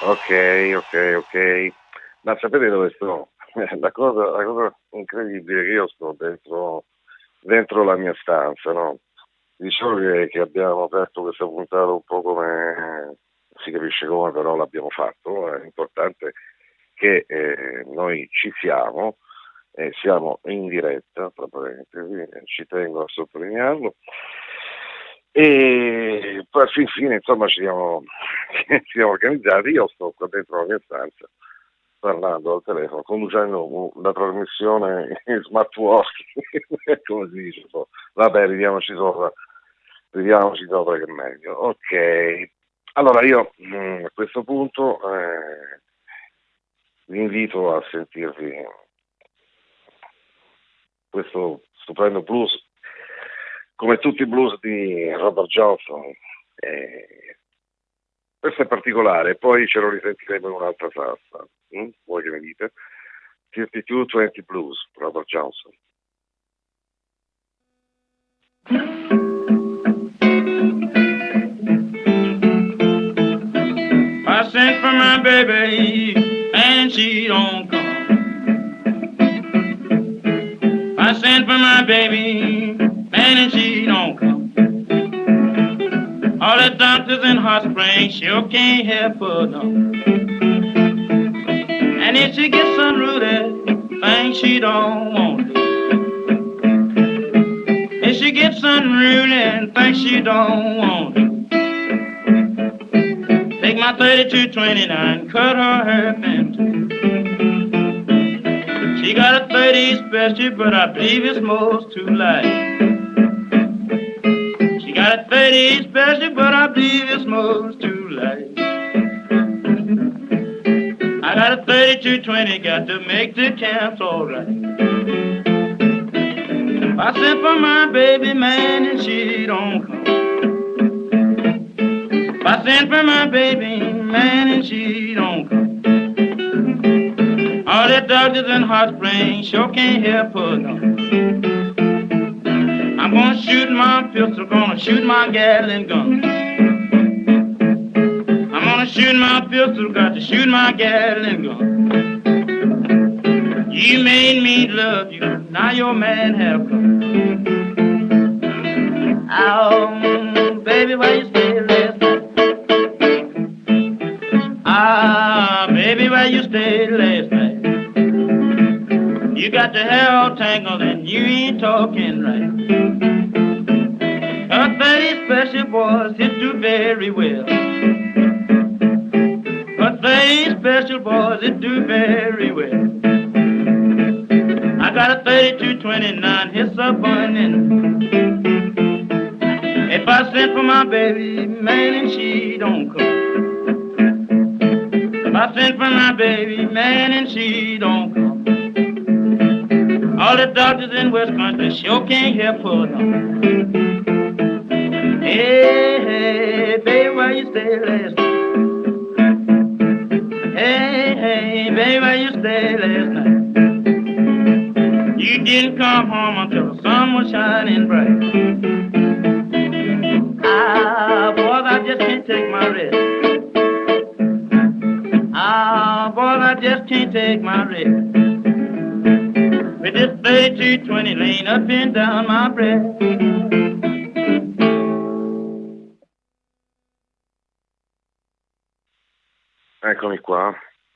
Speaker 1: Ok, ok, ok. Ma sapete dove sto? La cosa, la cosa incredibile è che io sto dentro, dentro la mia stanza, no? Diciamo che, che abbiamo aperto questa puntata un po' come si capisce come, però l'abbiamo fatto. È importante che eh, noi ci siamo, eh, siamo in diretta, tra parentesi, eh, ci tengo a sottolinearlo. E poi alla fine, insomma, ci siamo, ci siamo organizzati. Io sto qua dentro la mia stanza parlando al telefono, conducendo la trasmissione in smart working, come si dice. So. Vabbè, ridiamoci sopra, ridiamoci sopra che è meglio. Ok, allora io mh, a questo punto eh, vi invito a sentirvi questo stupendo blues, come tutti i blues di Robert Johnson. Eh, questo è particolare, poi ce lo risentiremo in un'altra salsa. Mm? Voi che ne dite? fifty-two twenty Blues, Robert Johnson.
Speaker 2: I sent for my baby and she don't come. I sent for my baby and she don't come. All the doctors in Hot Springs sure can't help her, no. And if she gets unruly, things she don't want to. If she gets unruly and things she don't want to. Take my thirty-two twenty-nine, cut her hair in two. She got a thirty special, but I believe it's most too light. She got a thirty special, but I believe it's most too light. I got a thirty-two twenty, got to make the camps alright. I sent for my baby man and she don't come. I sent for my baby man and she don't come. All the doctors in Hot Springs sure can't help her, no. I'm gonna shoot my pistol, gonna shoot my Gatling gun. I'm gonna shoot my pistol, got to shoot my Gatling gun. You made me love you, now your man have come. Oh, baby, where you stay last night? Ah, baby, where you stay last night? You got the hair all tangled and you ain't talking right. A thirty special boys hit do very well. A thirty special boys it do very well. I got a thirty-two twenty-nine, hits a bunnin'. If I sent for my baby, man, and she don't come. If I sent for my baby, man, and she don't come. All the doctors in West Country sure can't help her, no. Hey, hey, baby, where you stay last night? Hey, hey, baby, where you stay last night? You didn't come home until the sun was shining bright. Ah, boys, I just can't take my rest. Ah, boys, I just can't take my rest. With this thirty-two twenty lane up and down my breast.
Speaker 1: Eccomi qua.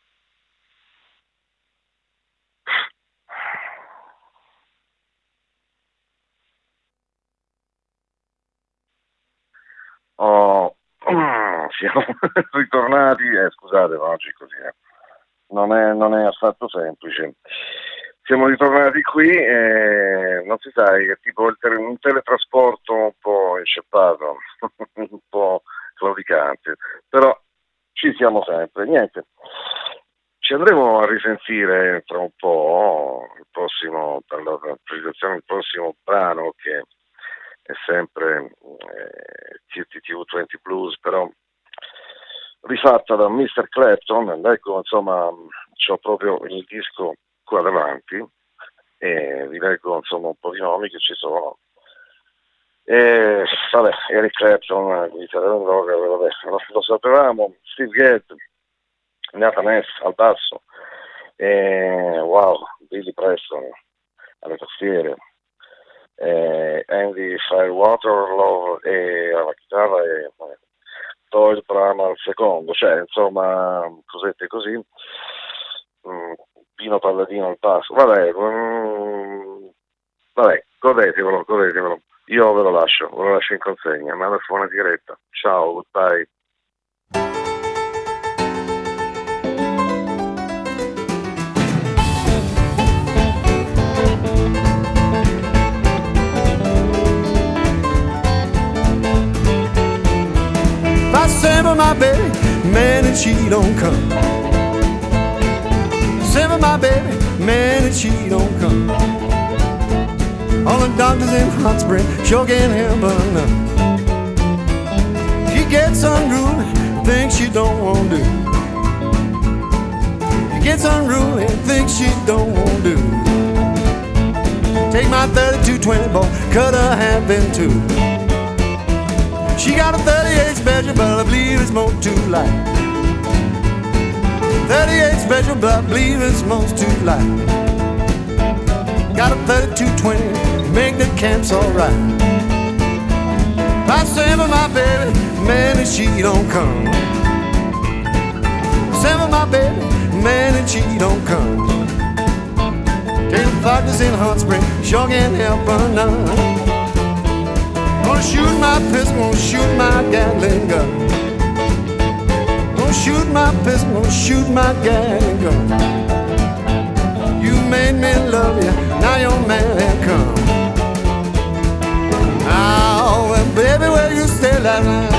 Speaker 1: Oh, siamo ritornati, eh, scusate, ma oggi così eh. non, è, non è affatto semplice. Siamo ritornati qui e non si sa, che tipo il tele, un teletrasporto un po' inceppato, un po' claudicante, però ci siamo sempre. Niente, ci andremo a risentire tra un po', il prossimo, per la presentazione del prossimo brano, che è sempre eh, fifty-two twenty Blues, però rifatta da mister Clapton. Ecco, insomma, c'ho proprio il disco qua davanti e vi leggo insomma un po' di nomi che ci sono. E, vabbè, Eric Clapton, chitarra in droga, vabbè, lo, lo sapevamo. Steve Gadd, Nathan Hess al basso, e, wow, Billy Preston alle tastiere, e Andy Firewater Love e alla chitarra e eh, Doyle Brahma al secondo, cioè insomma cosette così, mm, Pino Palladino al basso, vabbè, mm, vabbè, godetevelo, godetevelo, io ve lo lascio, ve lo lascio in consegna, ma adesso una sigaretta, ciao, goodbye.
Speaker 3: Send for my baby, man, and she don't come. Send for my baby, man, and she don't come. All the doctors in Hot Spring sure can't help her none. She gets unruly, thinks she don't want to do. She gets unruly, thinks she don't want to do. Take my thirty-two twenty ball, cut her half in two. She got a thirty-eight special, but I believe it's more too light. thirty-eight special, but I believe it's most too light. Got a thirty-two twenty, make the camps alright. I send for my baby, man, and she don't come. Send for my baby, man, and she don't come. Take the doctors in Hot Spring, sure can't help her none. Gonna shoot my pistol, gonna shoot my Gatling gun. Gonna shoot my pistol, gonna shoot my Gatling gun. You made me love you, now your man ain't come. Oh, well, baby, where you stay last night?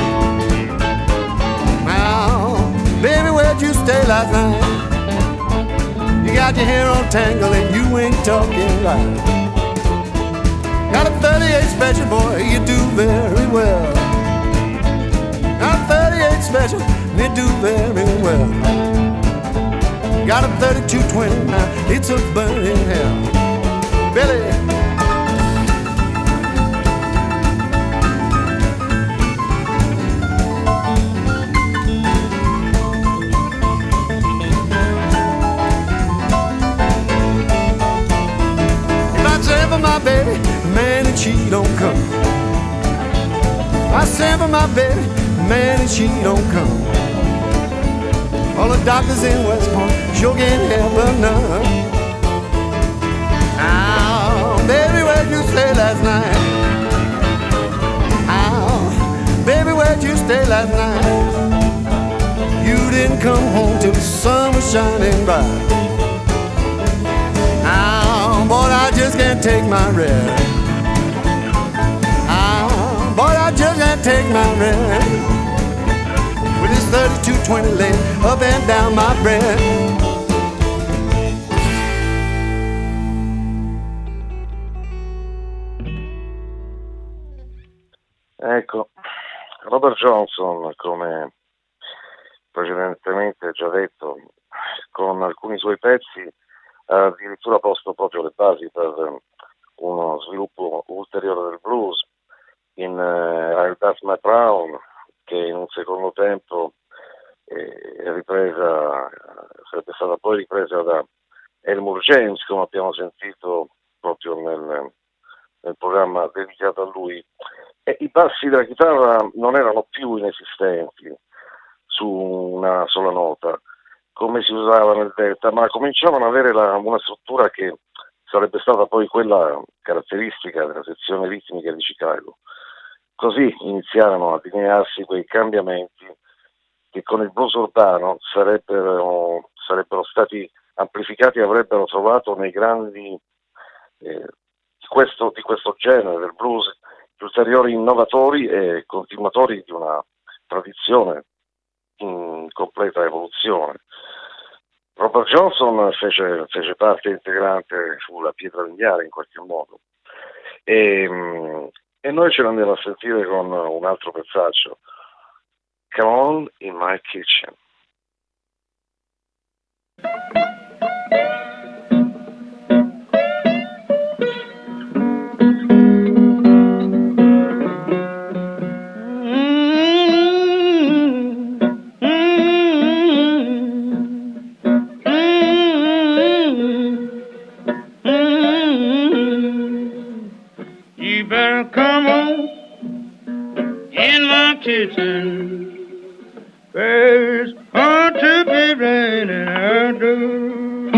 Speaker 3: Oh, baby, where'd you stay last night? You got your hair all tangled and you ain't talking right. Got a thirty-eight special, boy, you do very well. Got a thirty-eight special, you do very well. Got a thirty-two twenty, now it's a burning hell. Billy. If I say for my baby, man, and she don't come. I send for my baby, man, and she don't come. All the doctors in West Point sure can't help her none. Oh, baby, where'd you stay last night? Oh, baby, where'd you stay last night? You didn't come home till the sun was shining bright. Oh, boy, I just can't take my rest. Boy, I just can't take my rest with this thirty-two twenty laying up and down my breast.
Speaker 1: Ecco, Robert Johnson, come precedentemente già detto, con alcuni suoi pezzi ha addirittura posto proprio le basi per uno sviluppo ulteriore del blues. In uh, I'll Dust My Brown, che in un secondo tempo eh, è ripresa, sarebbe stata poi ripresa da Elmore James, come abbiamo sentito proprio nel, nel programma dedicato a lui, e i bassi della chitarra non erano più inesistenti su una sola nota, come si usava nel Delta, ma cominciavano ad avere la, una struttura che sarebbe stata poi quella caratteristica della sezione ritmica di Chicago. Così iniziarono a delinearsi quei cambiamenti che con il blues urbano sarebbero, sarebbero stati amplificati e avrebbero trovato nei grandi eh, di, questo, di questo genere del blues gli ulteriori innovatori e continuatori di una tradizione in completa evoluzione. Robert Johnson fece, fece parte integrante sulla pietra miliare in qualche modo e, e noi ce l'andiamo a sentire con un altro pezzaccio, Come On in My Kitchen.
Speaker 2: my kitchen. There's going to be raining out there.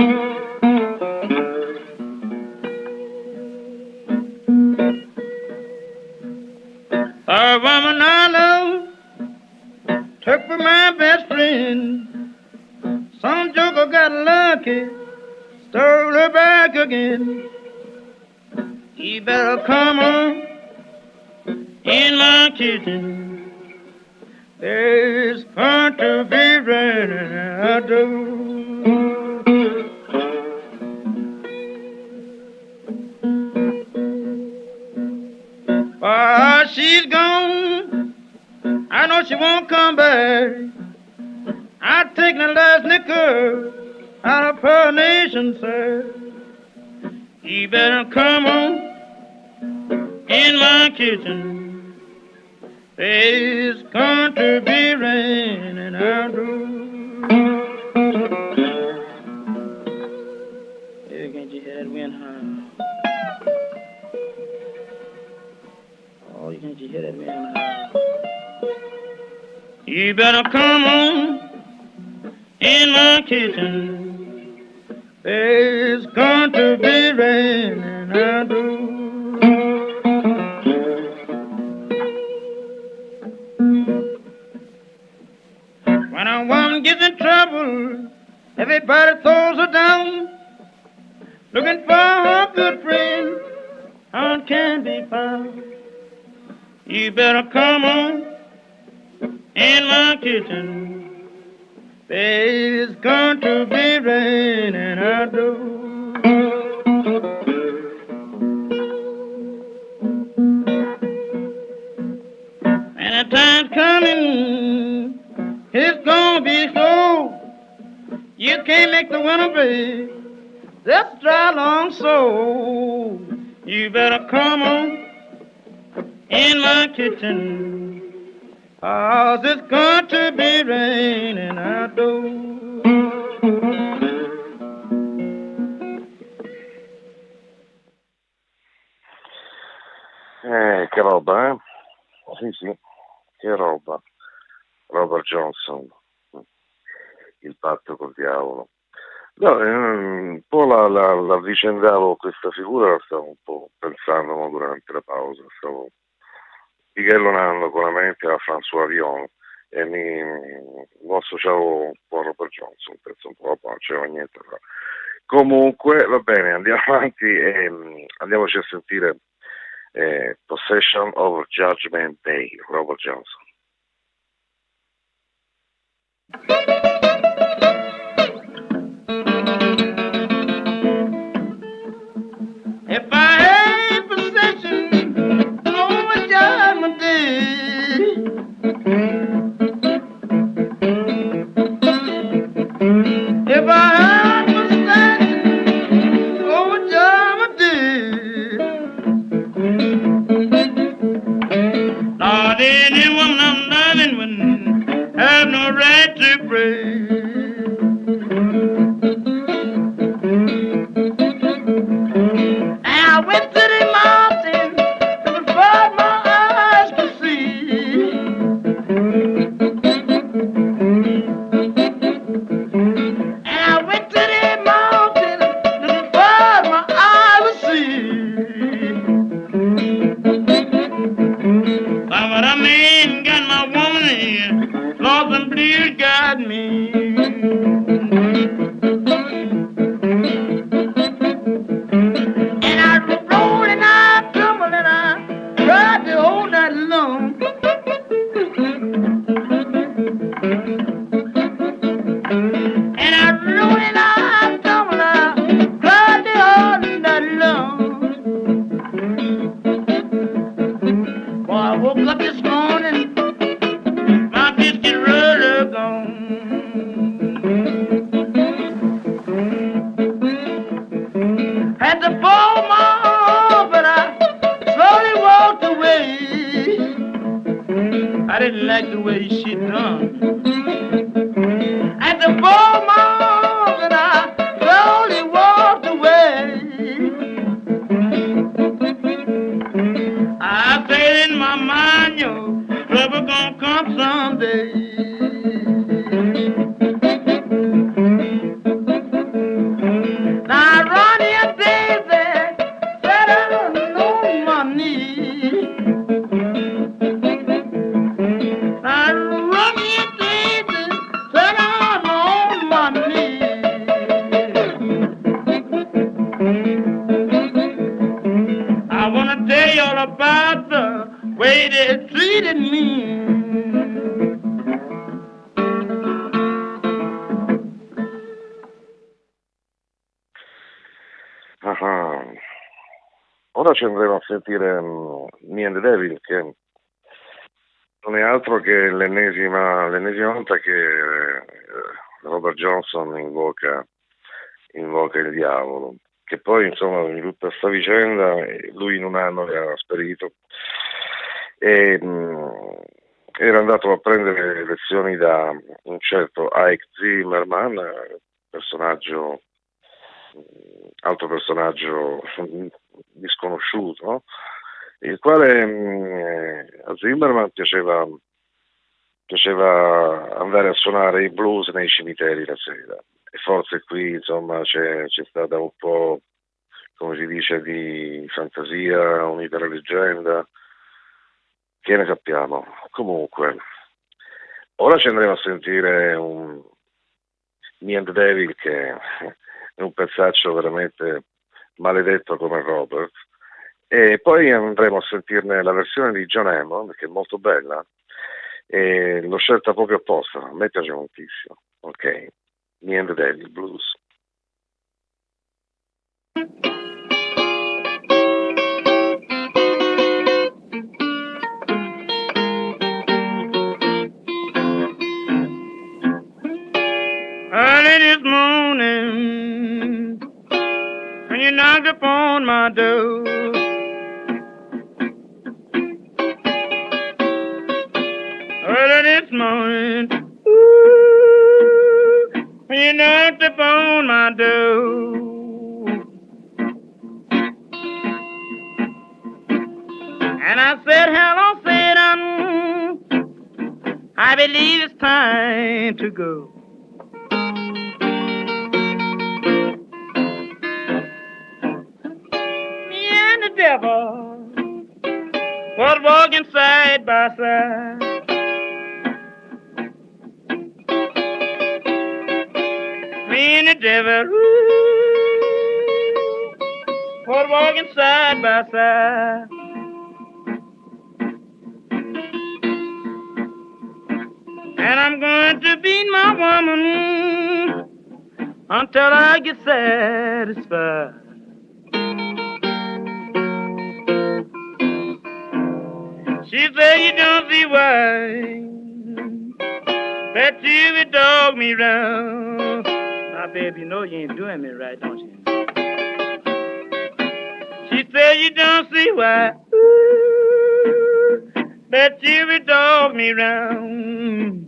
Speaker 2: A woman I love took for my best friend. Some joker got lucky, stole her back again. He better come on in my kitchen. There's going to be raining out there. While she's gone, I know she won't come back. I take the last nickel out of her nation, sir. You better come on in my kitchen. There's going to be raining out there. Hey, can't you hear that wind, huh? Oh, you can't you hear that wind, huh? You better come on in my kitchen. There's going to be raining out there. When a woman gets in trouble, everybody throws her down, looking for her good friend, how can be found. You better come on in my kitchen. There's going to be raining out there. And the time's coming, it's gonna be slow. You can't make the winter break, just dry long so. You better come on in my kitchen, 'cause it's going to be raining out there.
Speaker 1: Eh, che roba, eh? Sì, sì, che roba. Robert Johnson, il patto col diavolo. No, eh, un po' la, la, la avvicendavo questa figura, la stavo un po' pensando no, durante la pausa, stavo pighellonando con la mente a François Villon e mi, mi associavo un po' a Robert Johnson, penso un po', non c'era niente. Però. Comunque, va bene, andiamo avanti e um, andiamoci a sentire eh, Possession of Judgment Day, Robert Johnson.
Speaker 2: If I had possession over Judgment Day, if I had possession over Judgment Day, Lord, any woman I'm loving wouldn't have no right to pray. I went to the mountain to find my eyes to see. And I went to the mountain to find my eyes to see. But I man got my woman here, lost and blue got me. Rubber gonna gonna come someday. Now Ronnie Daisy sat down on my knee. Now Ronnie Daisy sat down on my knee. I wanna tell you all about the way they treated me.
Speaker 1: Ah, ora ci andremo a sentire um, Me and the Devil, che non è altro che l'ennesima, l'ennesima volta che eh, Robert Johnson invoca, invoca il diavolo, che poi insomma in tutta questa vicenda lui in un anno era sparito e mh, era andato a prendere lezioni da un certo Ike Zimmerman, personaggio, altro personaggio disconosciuto, no? Il quale mh, a Zimmerman piaceva, piaceva andare a suonare i blues nei cimiteri la sera, e forse qui insomma c'è, c'è stata un po', come si dice, di fantasia unita alla leggenda, che ne sappiamo. Comunque ora ci andremo a sentire un Me and the Devil, che è un pezzaccio veramente maledetto come Robert, e poi andremo a sentirne la versione di John Hammond, che è molto bella, e l'ho scelta proprio apposta, a me piace moltissimo. Ok, Me and the Devil Blues.
Speaker 2: Early this morning, when you knocked upon my door, early this morning, ooh, when you knocked upon my door, and I said, hello, Satan, I believe it's time to go. Devil was walking side by side. Me and the devil ooh, was walking side by side. And I'm going to beat my woman until I get satisfied. She said you don't see why that you would dog me round. Now, baby, you know you ain't doing me right, don't you? She said you don't see why ooh, that you would dog me round.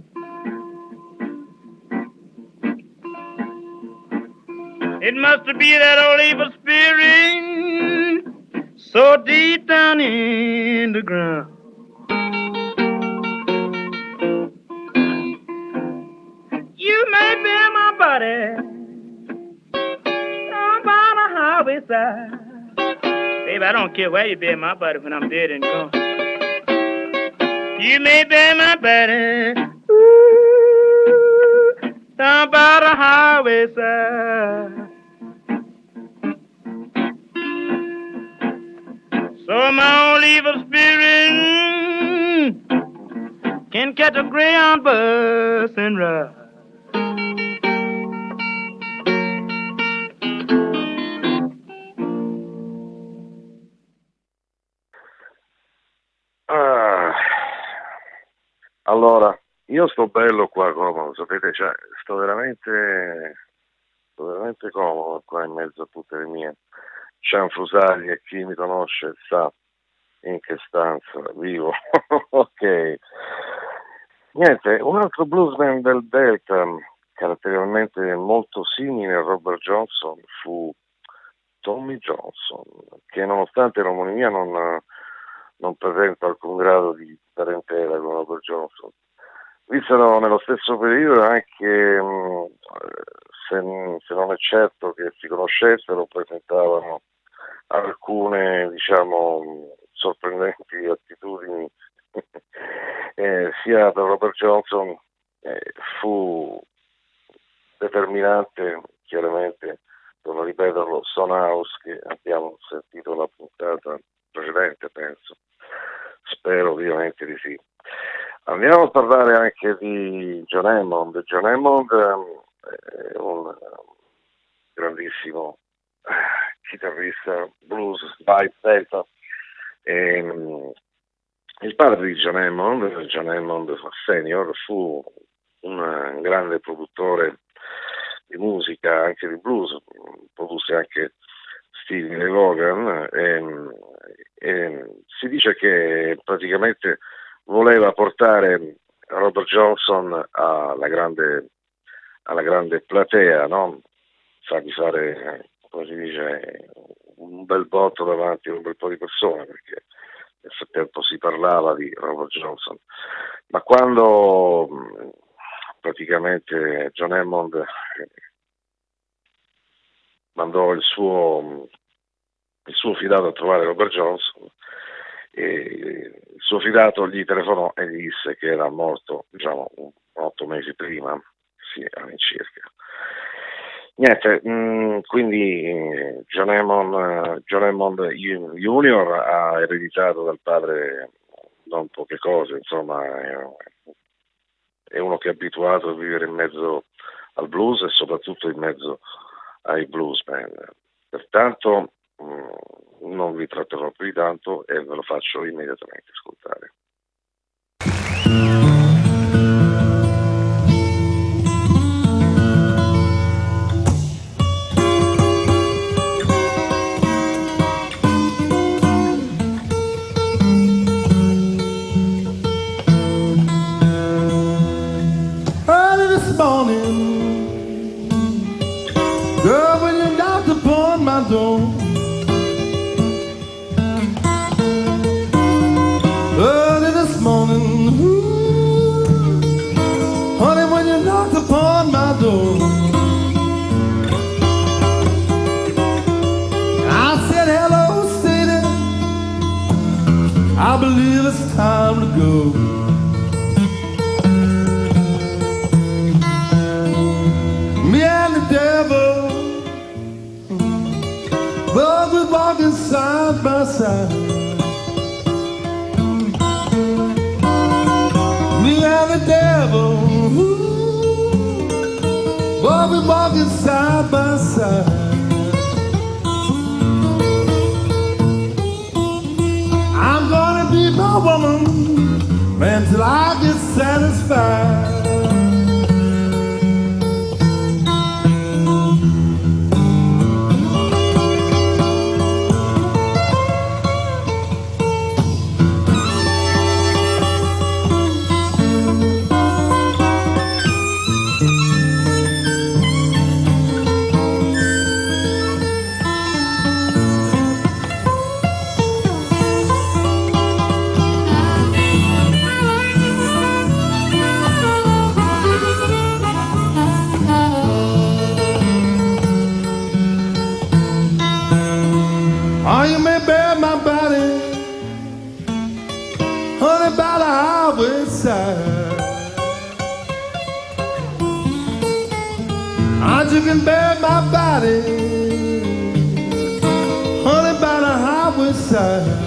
Speaker 2: It must be that old evil spirit so deep down in the ground. You may be in my body down by the highway side. Baby, I don't care where you be in my body when I'm dead and gone. You may be in my body ooh, down by the highway side. So my old evil spirit can catch a Greyhound bus and ride.
Speaker 1: Ah, allora, io sto bello qua comodo, sapete, cioè, sto veramente, sto veramente comodo qua in mezzo a tutte le mie cianfrusaglie, e chi mi conosce sa in che stanza vivo. Ok. Niente, un altro bluesman del Delta, caratterialmente molto simile a Robert Johnson, fu Tommy Johnson, che nonostante l'omonimia non, non presento alcun grado di parentela con Robert Johnson. Vissero nello stesso periodo anche, mh, se, se non è certo che si conoscessero, presentavano alcune, diciamo, sorprendenti attitudini eh, sia per Robert Johnson eh, fu determinante, chiaramente, torno a ripeterlo, Stonehouse, che abbiamo sentito la puntata precedente, penso, spero ovviamente di sì. Andiamo a parlare anche di John Hammond. John Hammond um, è un grandissimo chitarrista blues, by Delta. E, um, il padre di John Hammond, John Hammond senior, fu un grande produttore di musica, anche di blues, produsse anche Stevie Ray Vaughan, e, e si dice che praticamente voleva portare Robert Johnson alla grande, alla grande platea, no? Fargli fare, come si dice, un bel botto davanti a un bel po' di persone, perché nel frattempo si parlava di Robert Johnson. Ma quando praticamente John Hammond mandò il suo, il suo fidato a trovare Robert Johnson, e il suo fidato gli telefonò e gli disse che era morto, diciamo, otto mesi prima, sì, all'incirca. Niente, mh, quindi John Hammond, John Hammond Junior ha ereditato dal padre non poche cose, insomma, è, è uno che è abituato a vivere in mezzo al blues e soprattutto in mezzo ai blues band. Pertanto mh, non vi tratterò più di tanto e ve lo faccio immediatamente ascoltare.
Speaker 3: Early this morning, girl, when you knocked upon my door, early this morning, ooh, honey, when you knocked upon my door, I said, hello, city, I believe it's time to go. Me and the devil, but we're walking side by side. Me and the devil, ooh, but we're walking side by side. I'm gonna be my woman, man, till I get satisfied. Or you may bear my body, honey, by the highway side. Or you can bear my body, honey, by the highway side.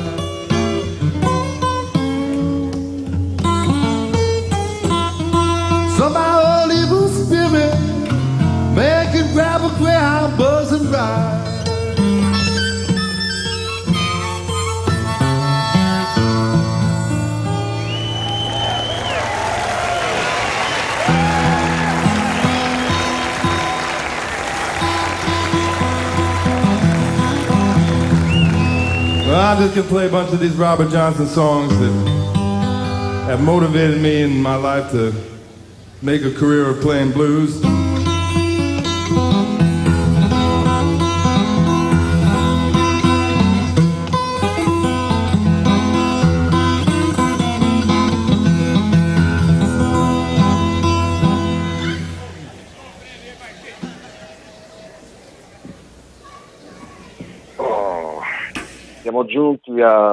Speaker 3: So my old evil spirit make it grab a greyhound buzz and ride. Well, I just can play a bunch of these Robert Johnson songs that have motivated me in my life to make a career of playing blues.
Speaker 1: siamo giunti a,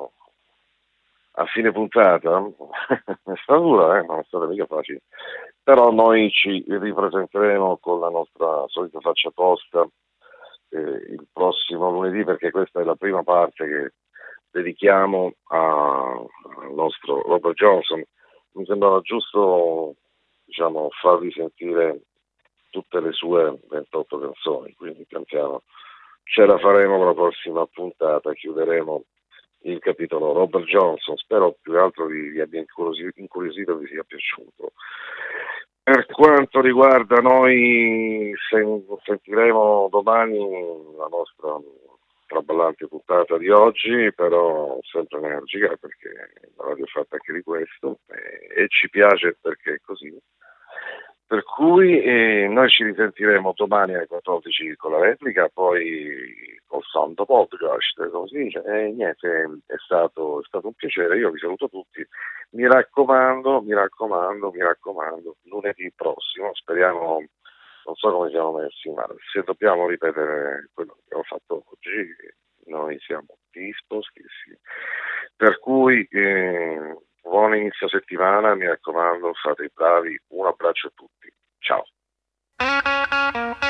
Speaker 1: a fine puntata. È stata dura, eh? Non è stata mica facile. Però noi ci ripresenteremo con la nostra solita faccia tosta eh, il prossimo lunedì, perché questa è la prima parte che dedichiamo a, al nostro Robert Johnson. Mi sembrava giusto, diciamo, farvi sentire tutte le sue ventotto canzoni, quindi pian piano ce la faremo con la prossima puntata, chiuderemo il capitolo Robert Johnson. Spero più che altro vi, vi abbia incuriosito e vi sia piaciuto. Per quanto riguarda noi, sen- sentiremo domani la nostra traballante puntata di oggi, però sempre energica, perché la radio è fatta anche di questo e, e ci piace perché è così. Per cui eh, noi ci risentiremo domani alle quattordici con la replica, poi col santo podcast, come si dice, e niente, è stato, è stato un piacere, io vi saluto tutti, mi raccomando, mi raccomando, mi raccomando, lunedì prossimo, speriamo, non so come siamo messi, ma se dobbiamo ripetere quello che abbiamo fatto oggi, noi siamo dispostissimi. Per cui eh, buon inizio settimana, mi raccomando, fate i bravi, un abbraccio a tutti, ciao.